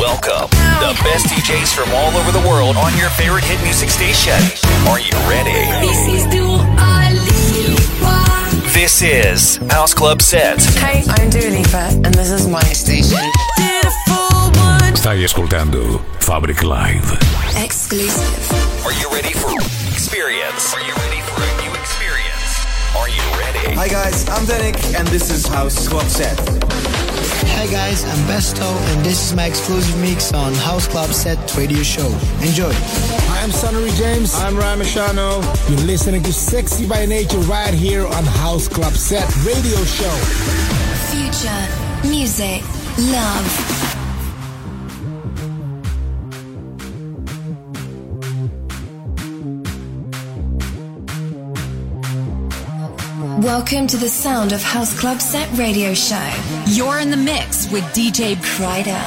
Welcome, the best DJs from all over the world on your favorite hit music station. Are you ready? This is House Club Set. Hey, I'm Dua Lipa and this is my station. Stai ascoltando Fabric Live. Exclusive. Are you ready for experience? Are you ready for a new experience? Are you ready? Hi guys, I'm Danik and this is House Club Set. Hi guys, I'm Besto and this is my exclusive mix on House Club Set radio show. Enjoy. Hi, I'm Sonny James. I'm Ryan Machano. You're listening to Sexy by Nature right here on House Club Set radio show. Future, music, love. Welcome to the sound of House Club Set radio show. You're in the mix with DJ Kryder.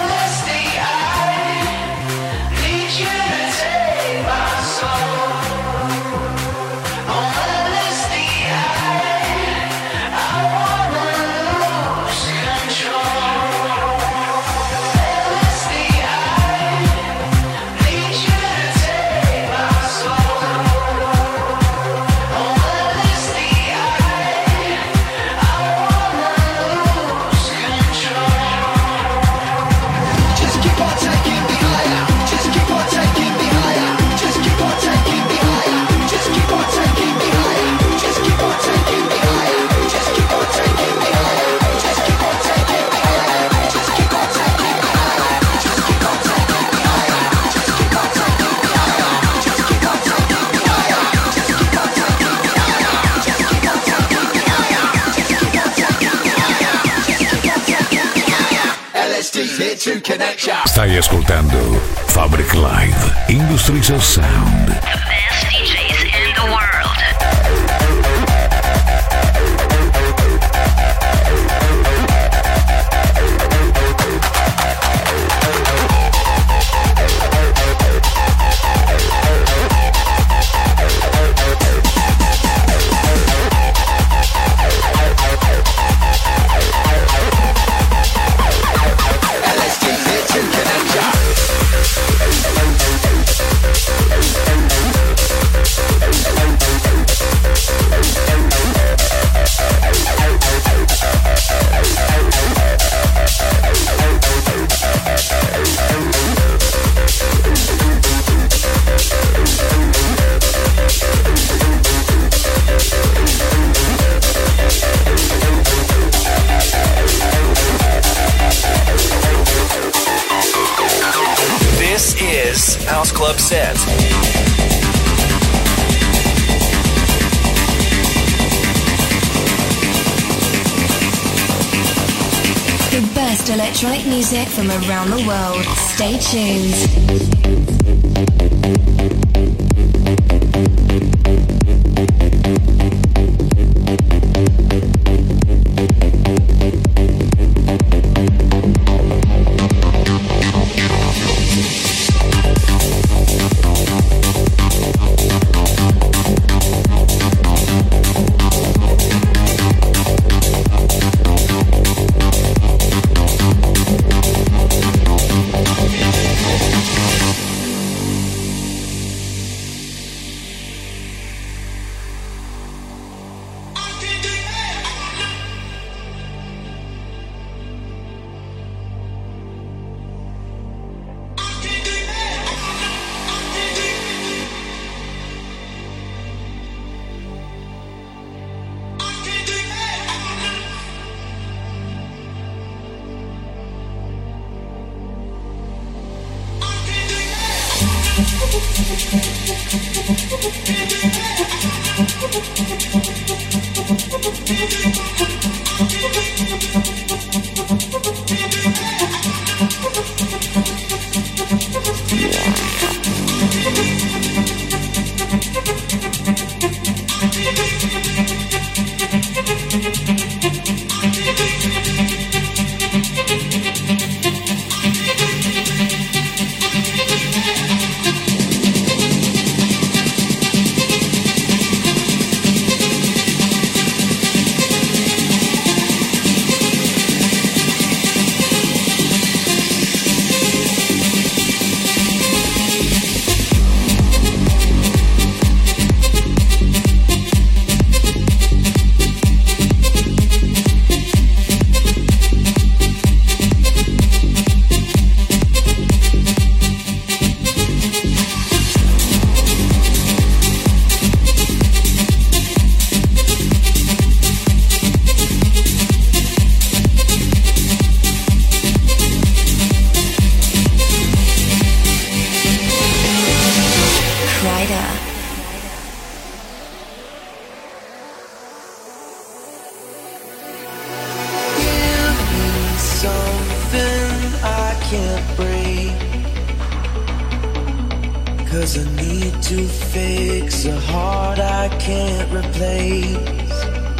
Stai ascoltando Fabric Live, Industries of Sound. The best DJs in the world. This is House Club Set. The best electronic music from around the world. Stay tuned. 'Cause I need to fix a heart I can't replace.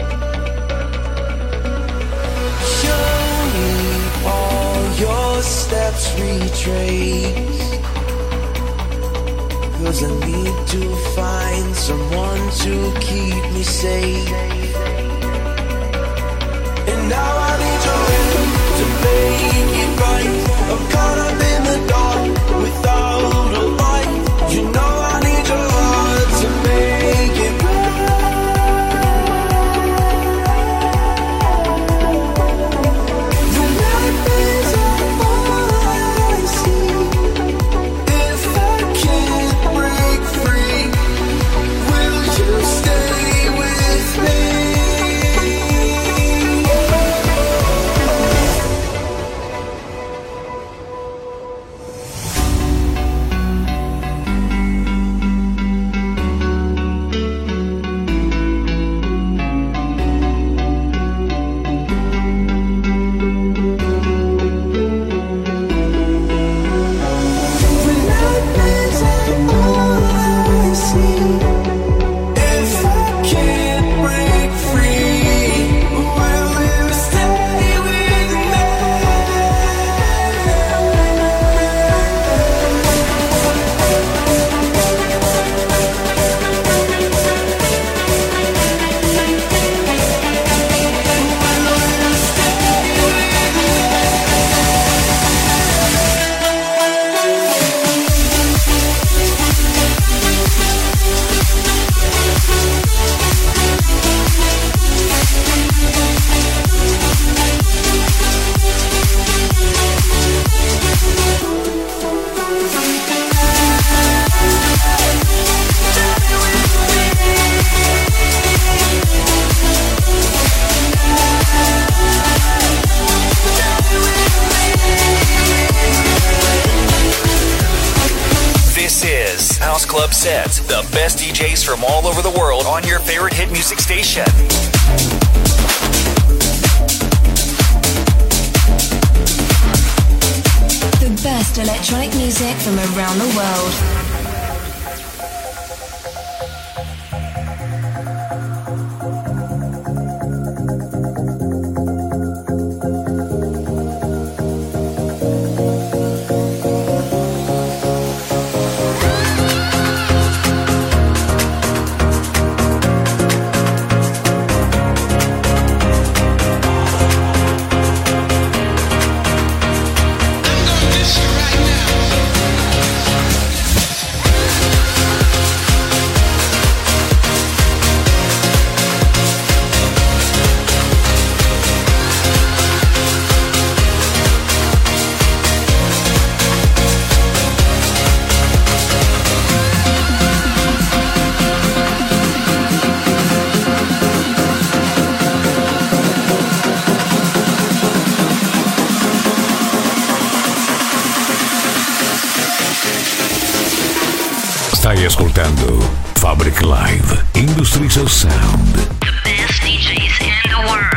Show me all your steps retraced. 'Cause I need to find someone to keep me safe. And now I need your help to make it right. I'm caught up in the dark without a light. You know I need your heart to make it the light is all I see. If I can't break free, will you stay with me? Club Set, the best DJs from all over the world on your favorite hit music station. The best electronic music from around the world. Stai ascoltando Fabric Live Industries of Sound. The best DJs in the world.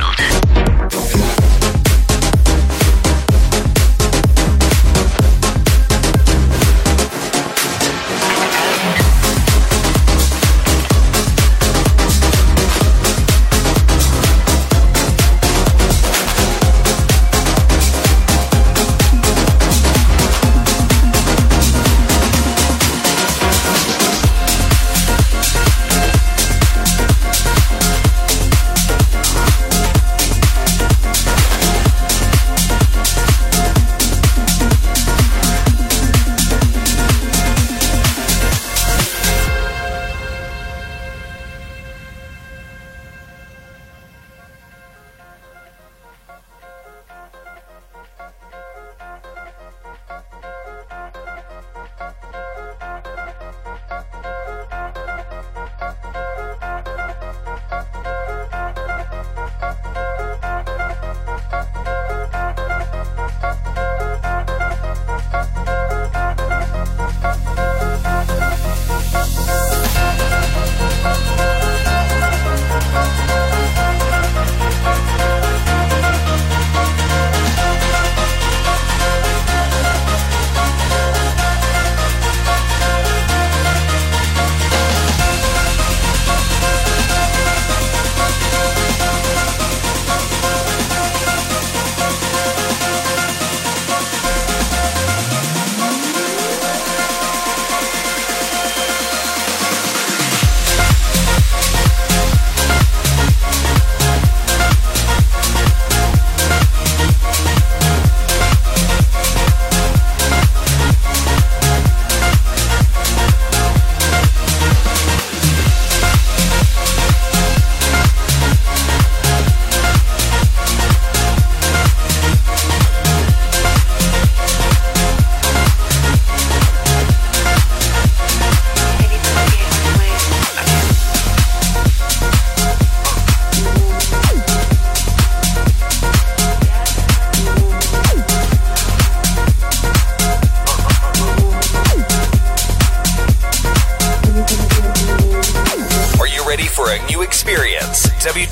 for a new experience.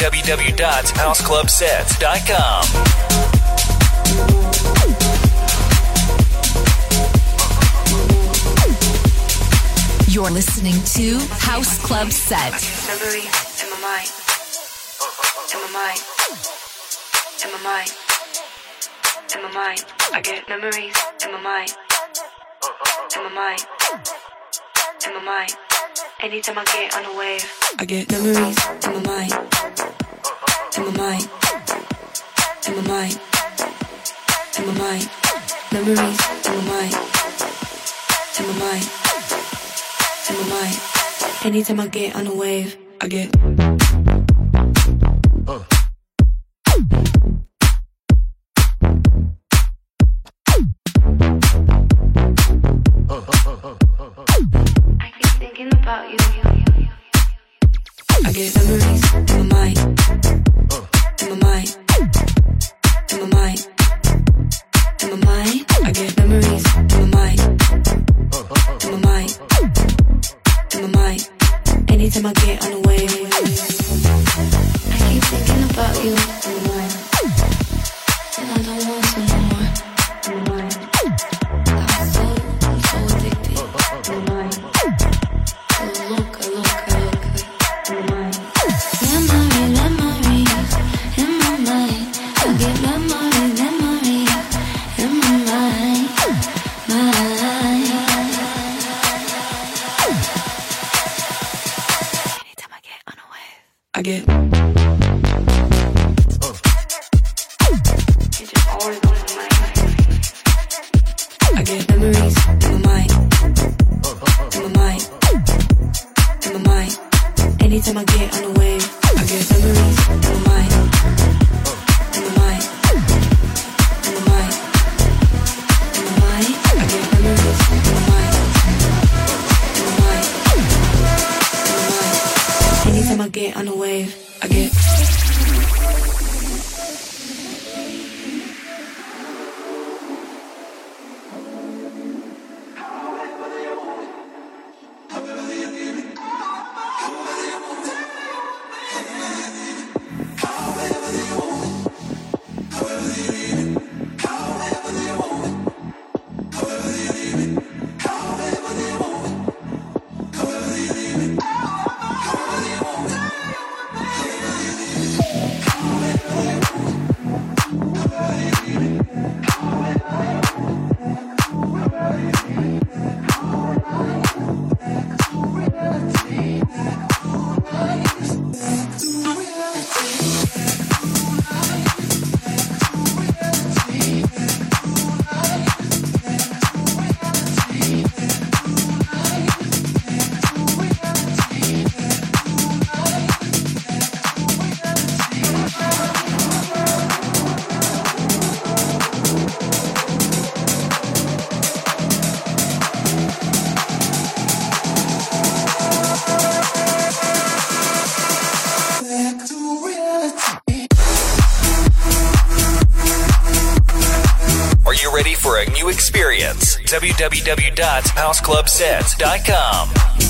www.houseclubsets.com. You're listening to House Club Set. Memories in my mind. In my mind. In my mind. In my mind. I get memories in my mind. In my mind. In my mind. Anytime I get on a wave, I get memories in my mind. In my mind. In my mind. In my mind. Memories in my mind. In my mind. In my mind. Anytime I get on a wave, I get. I keep thinking about you. I get memories in my mind. In my mind. In my mind. In my mind. I get memories in my mind. In my mind. In my mind. Anytime I get on a wave, I keep thinking about you in my mind. And I don't want to no more in my mind. I'm so addicted in my mind. I look in my mind. Memories in my mind. I get memories in my mind. Anytime I get on a wave, I get. It's just always on my mind. I get memories in my mind. In my mind. In my mind. Anytime I get on a wave, I get memories in my mind. In my mind. In my mind. In my mind. I get memories in my mind. In my mind. In my mind. Anytime I get on a wave, I get. Experience. www.houseclubsets.com.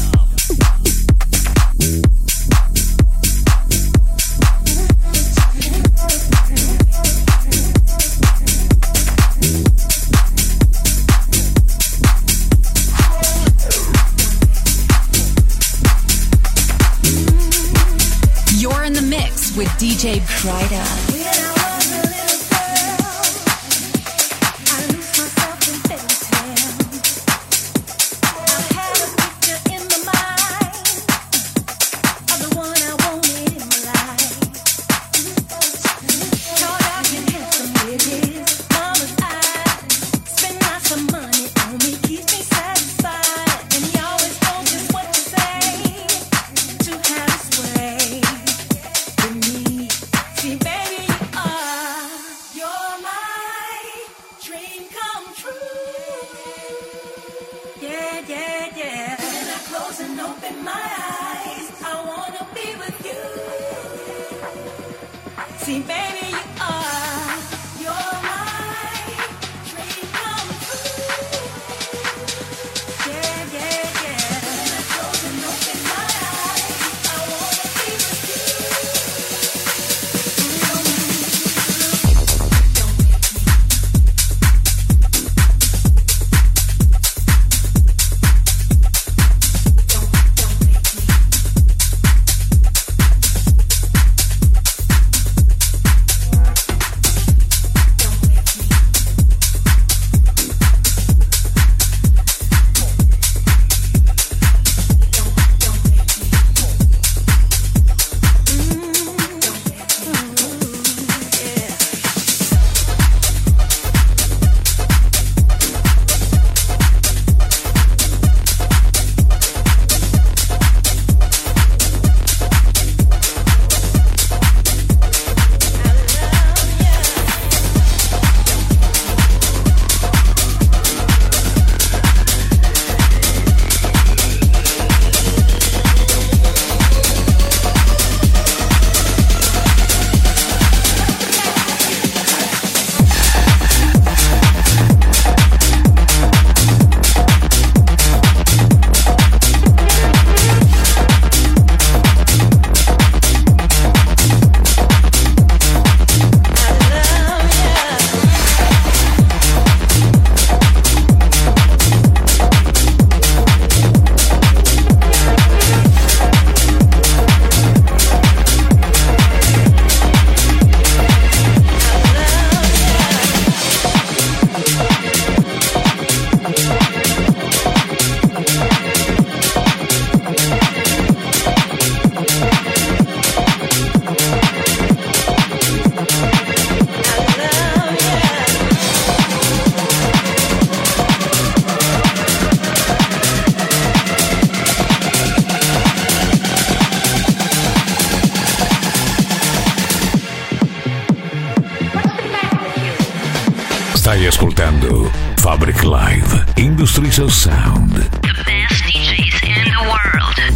You're in the mix with DJ Prida. See, baby, you are. You're my dream come true. Yeah, yeah, yeah. When I close and open my eyes, I wanna be Stai ascoltando Fabric Live Industries of Sound. The best DJs in the world.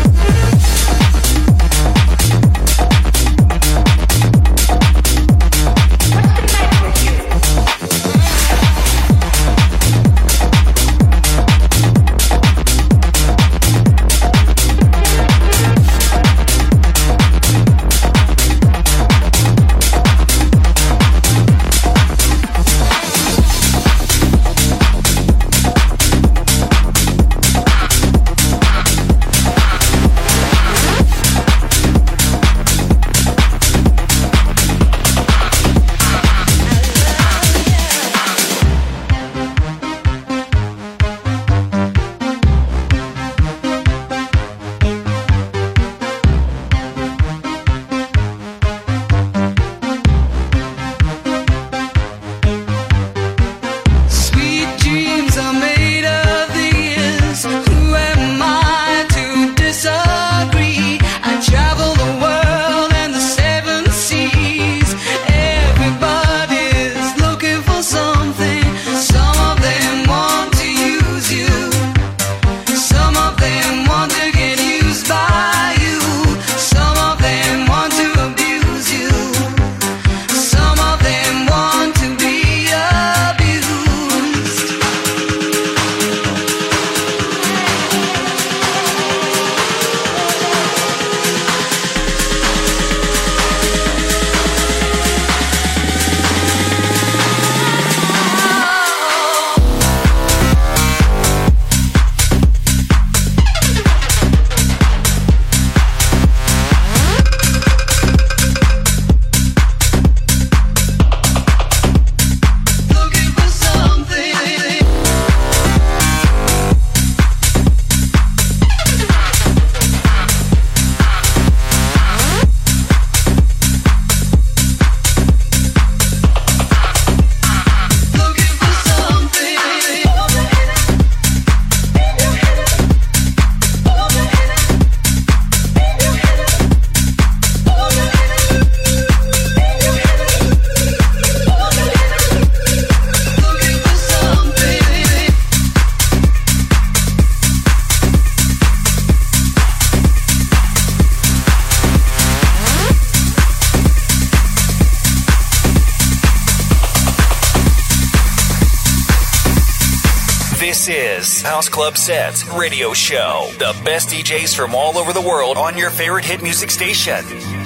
This is House Club Set Radio Show. The best DJs from all over the world on your favorite hit music station.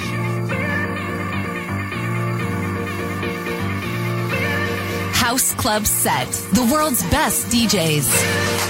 House Club Set, the world's best DJs.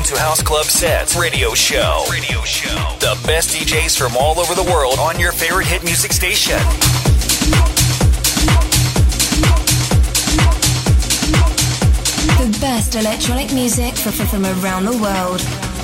to House Club Sets Radio Show. The best DJs from all over the world on your favorite hit music station. The best electronic music from around the world.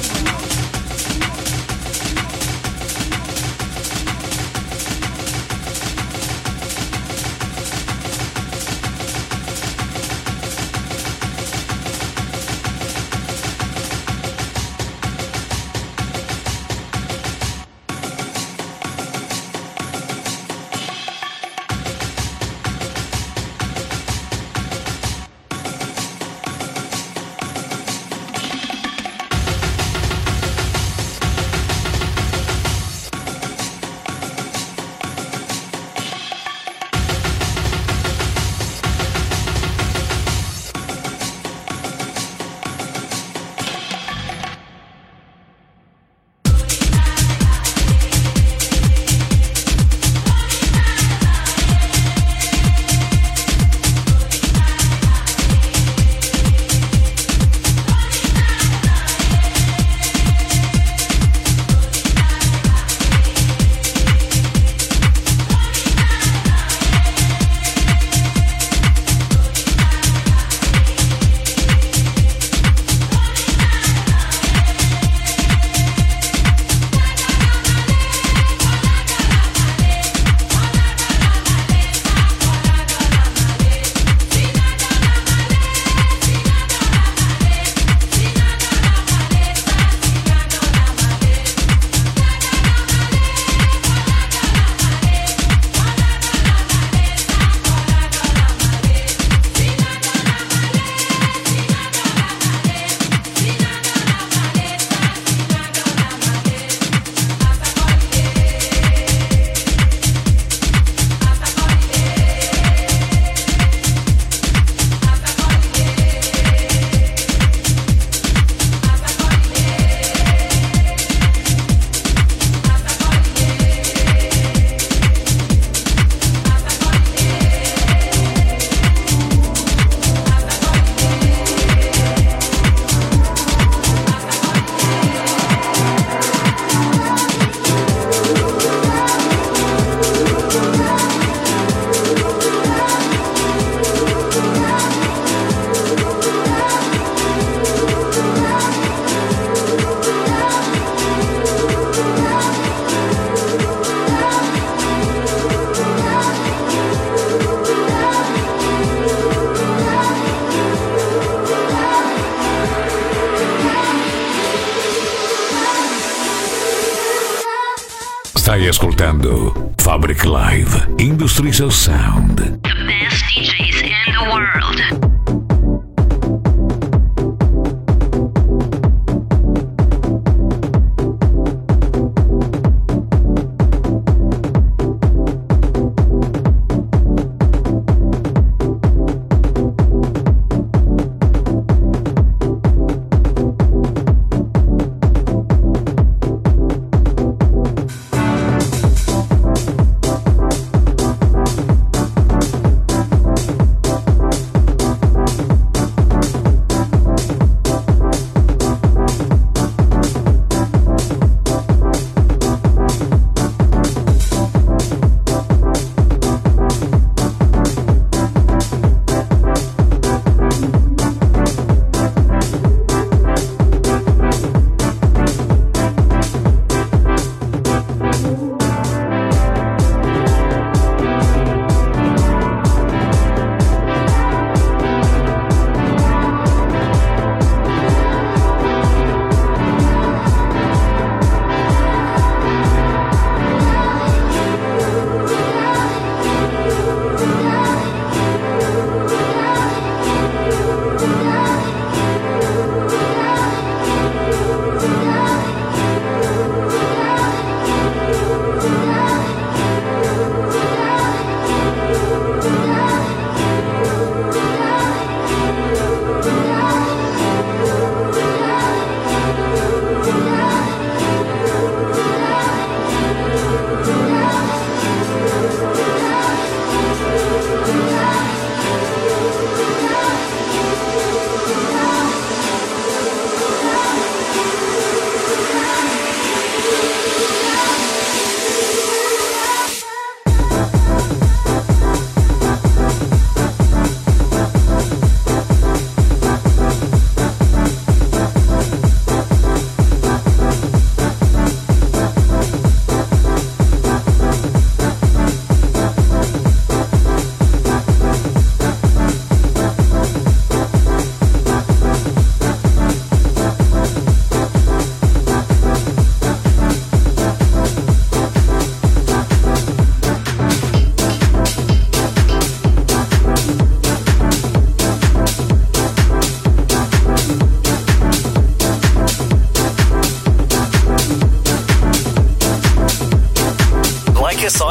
Stai ascoltando Fabric Live Industries of Sound. The best DJs in the world.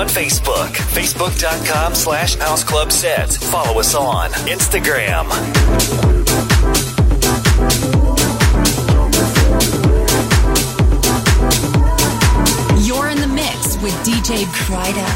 on Facebook, facebook.com/houseclubset. Follow us on Instagram. You're in the mix with DJ Kryder.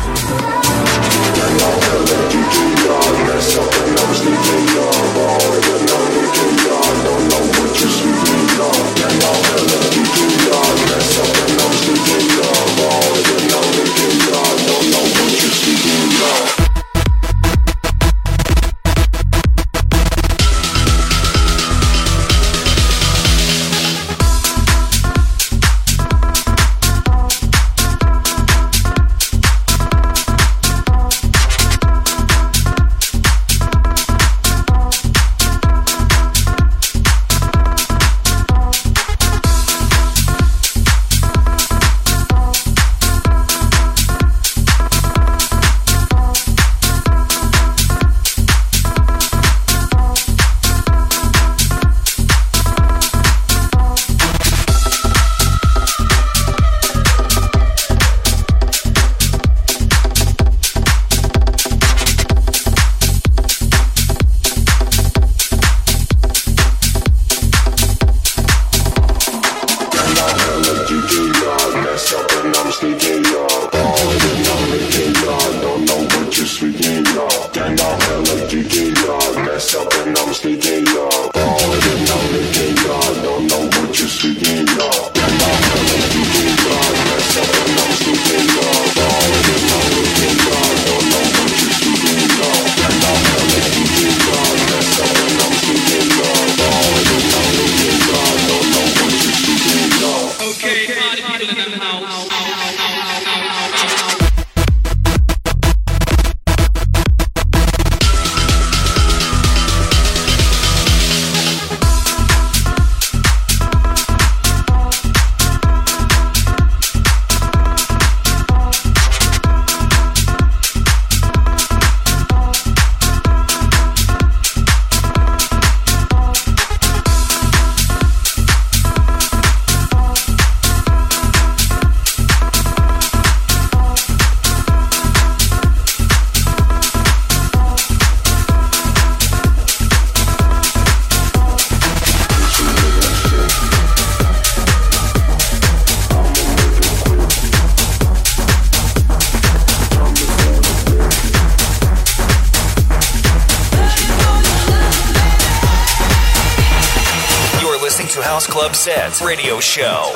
Club Set Radio Show.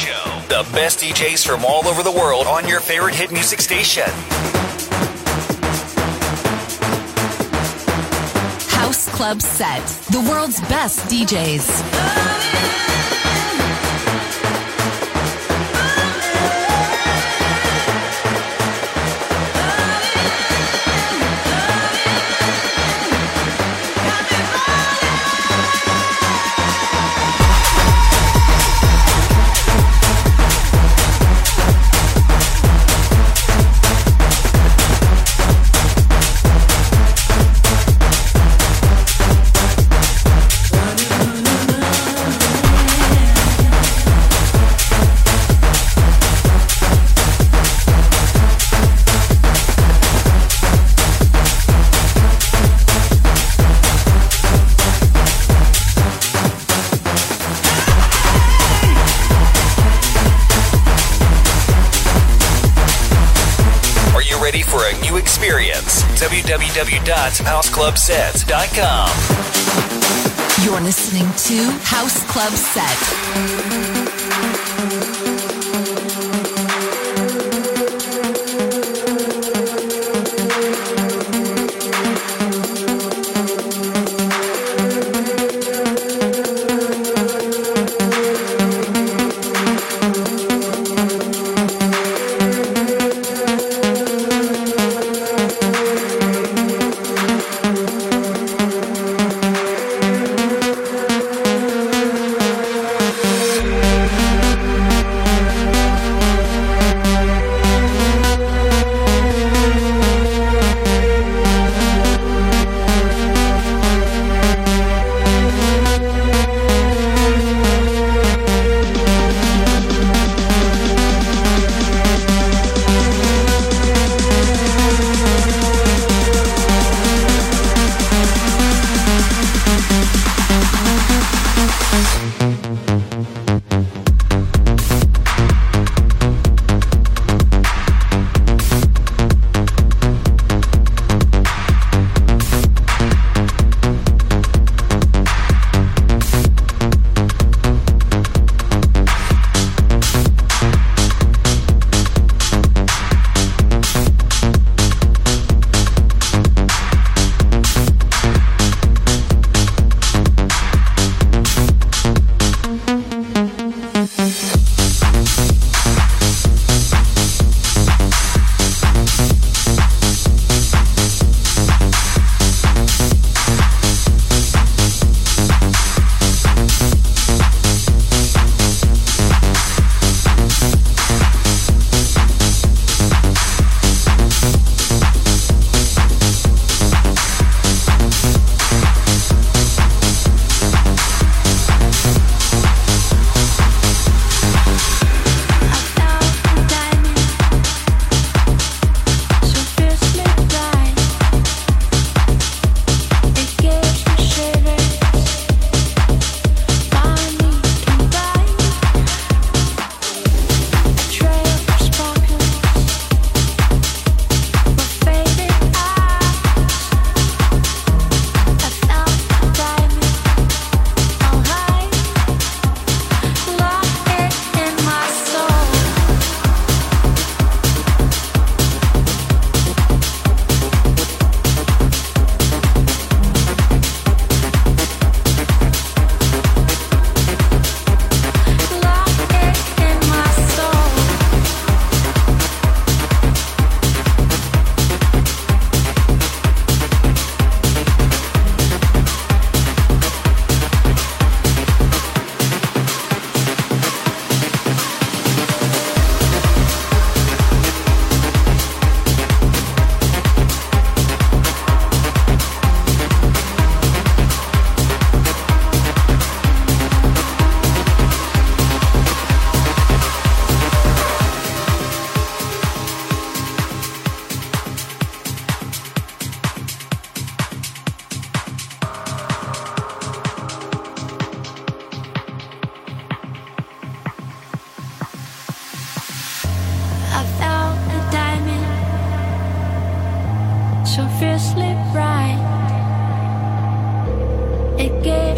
The best DJs from all over the world on your favorite hit music station. House Club Set, the world's best DJs. www.houseclubset.com. You're listening to House Club Set.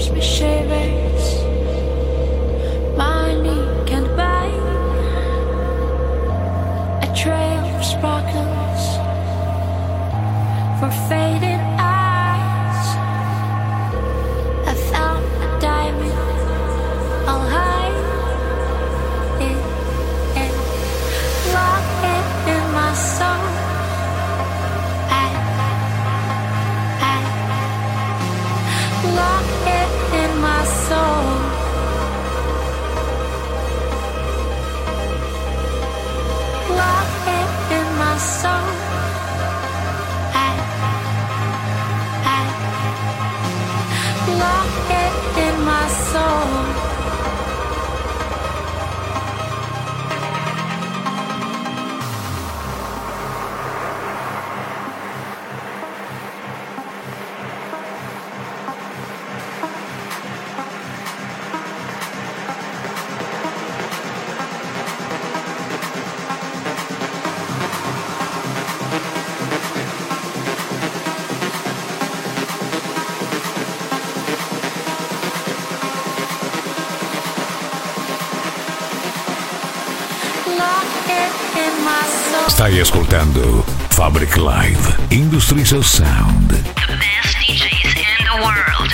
gives me shivers. Money can't buy a trail of sparkles for faded eyes. I found a diamond, I'll hide it and lock it in my soul. Lock it in my soul. Lock it in my soul. Lock it in my soul. Stai ascoltando Fabric Live, Industries of Sound. The best DJs in the world.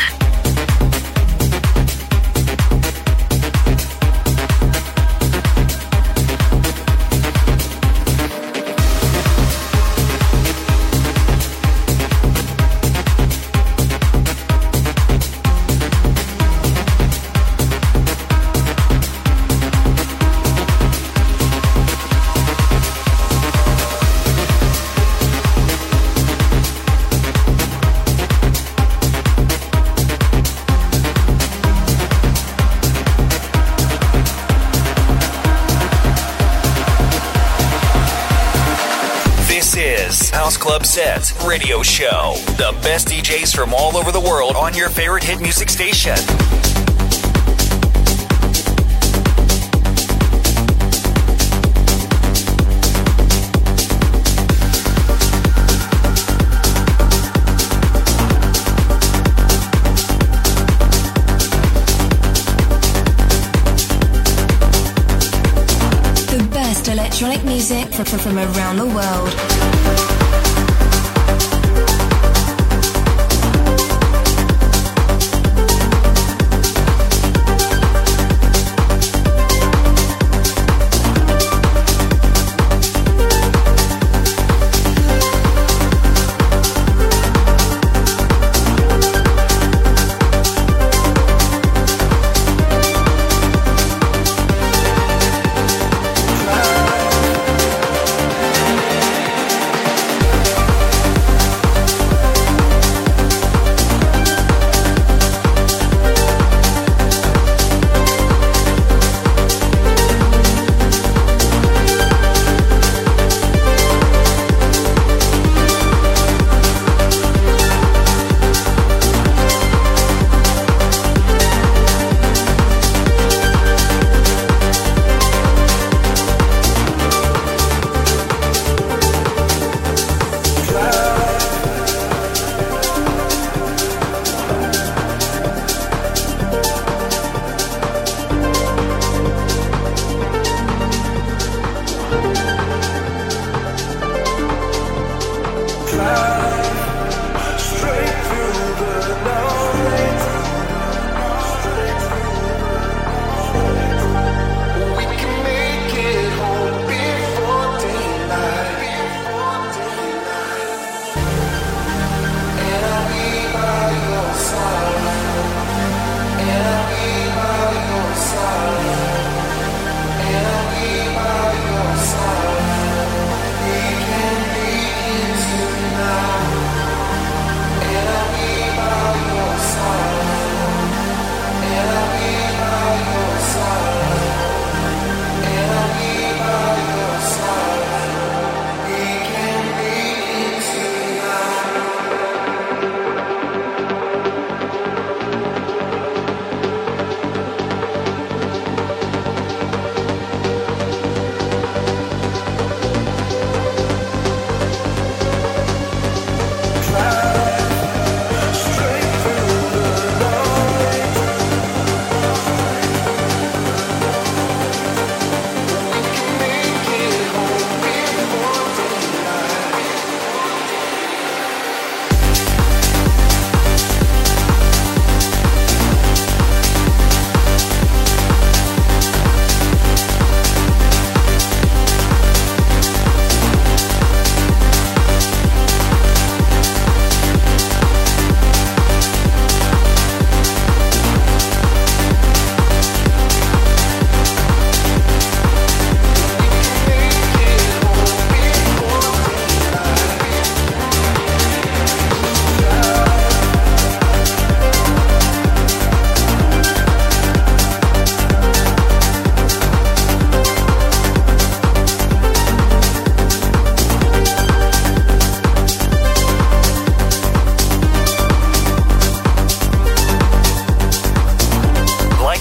House Club Sets Radio Show. The best DJs from all over the world on your favorite hit music station. The best electronic music from around the world.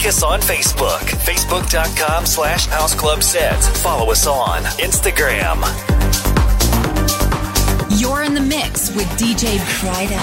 Like us on Facebook, facebook.com/houseclubset. Follow us on Instagram. You're in the mix with DJ Prida.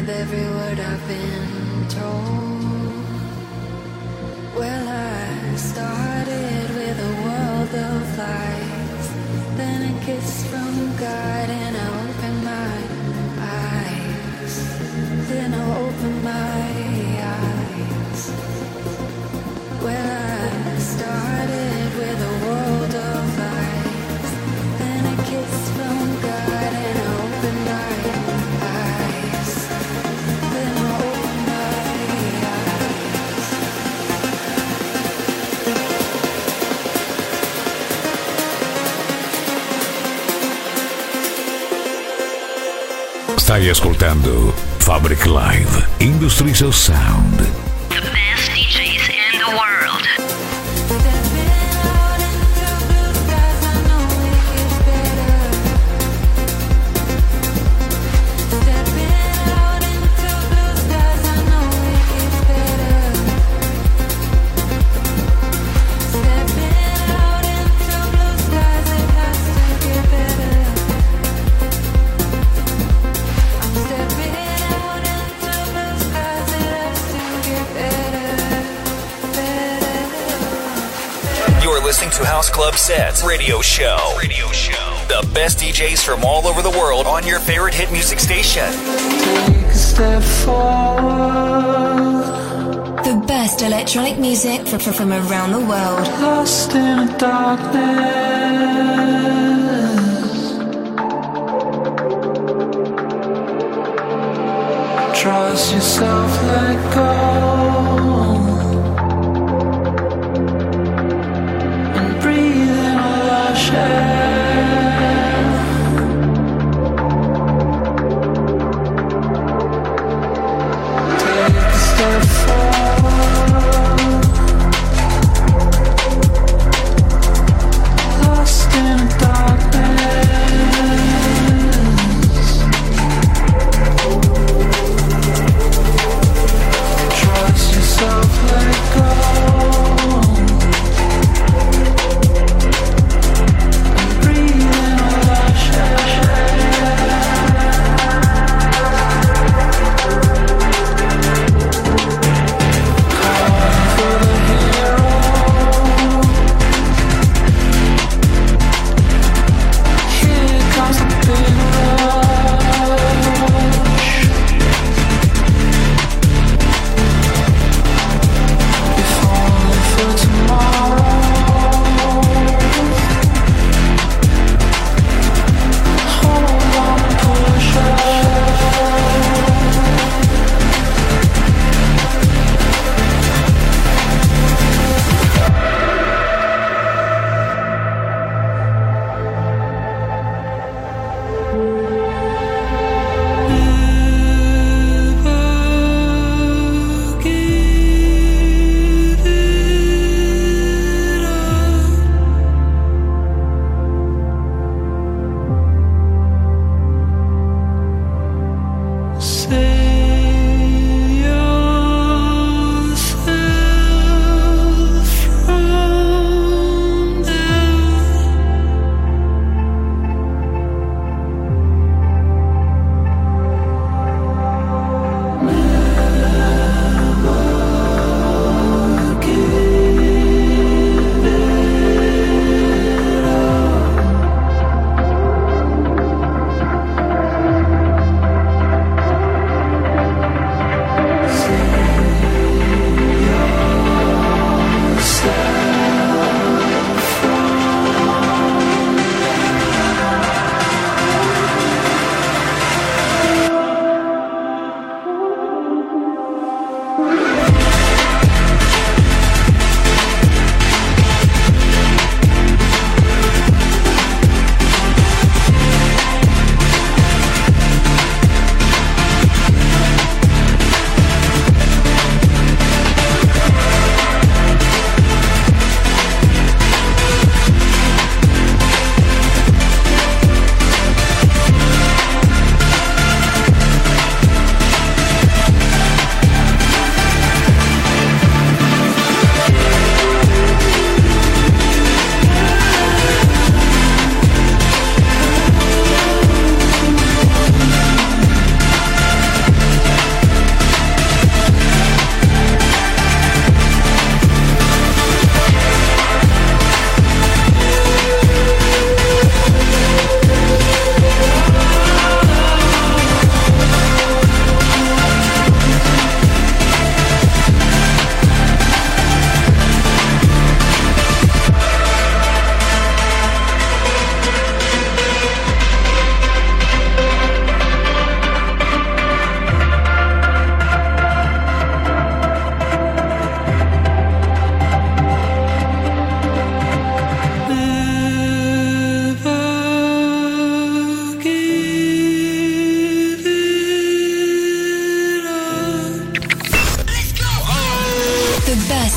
with every word I've been told. Well, I started with a world of lies, then a kiss from God, and I opened my eyes. Then I opened my eyes. Well, I started with a world of lies, then a kiss from God, and I opened my eyes. Then I opened my Stai ascoltando Fabric Live Industries of Sound. The best DJs in the world. Listening to House Club Sets Radio Show. The best DJs from all over the world on your favorite hit music station. Take a step forward. The best electronic music from around the world. Lost in a darkness. Trust yourself, let go.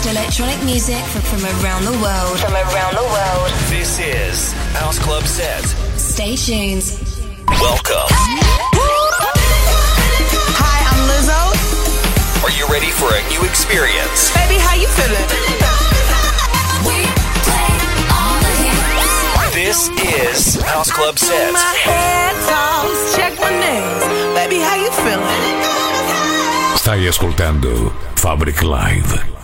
electronic music from around the world. From around the world. This is House Club Set. Stay tuned. Welcome. Hi, I'm Lizzo. Are you ready for a new experience? Baby, how you feeling? This is House Club Set. My head toss, check my nails. Baby, how you feeling? Stai ascoltando Fabric Live.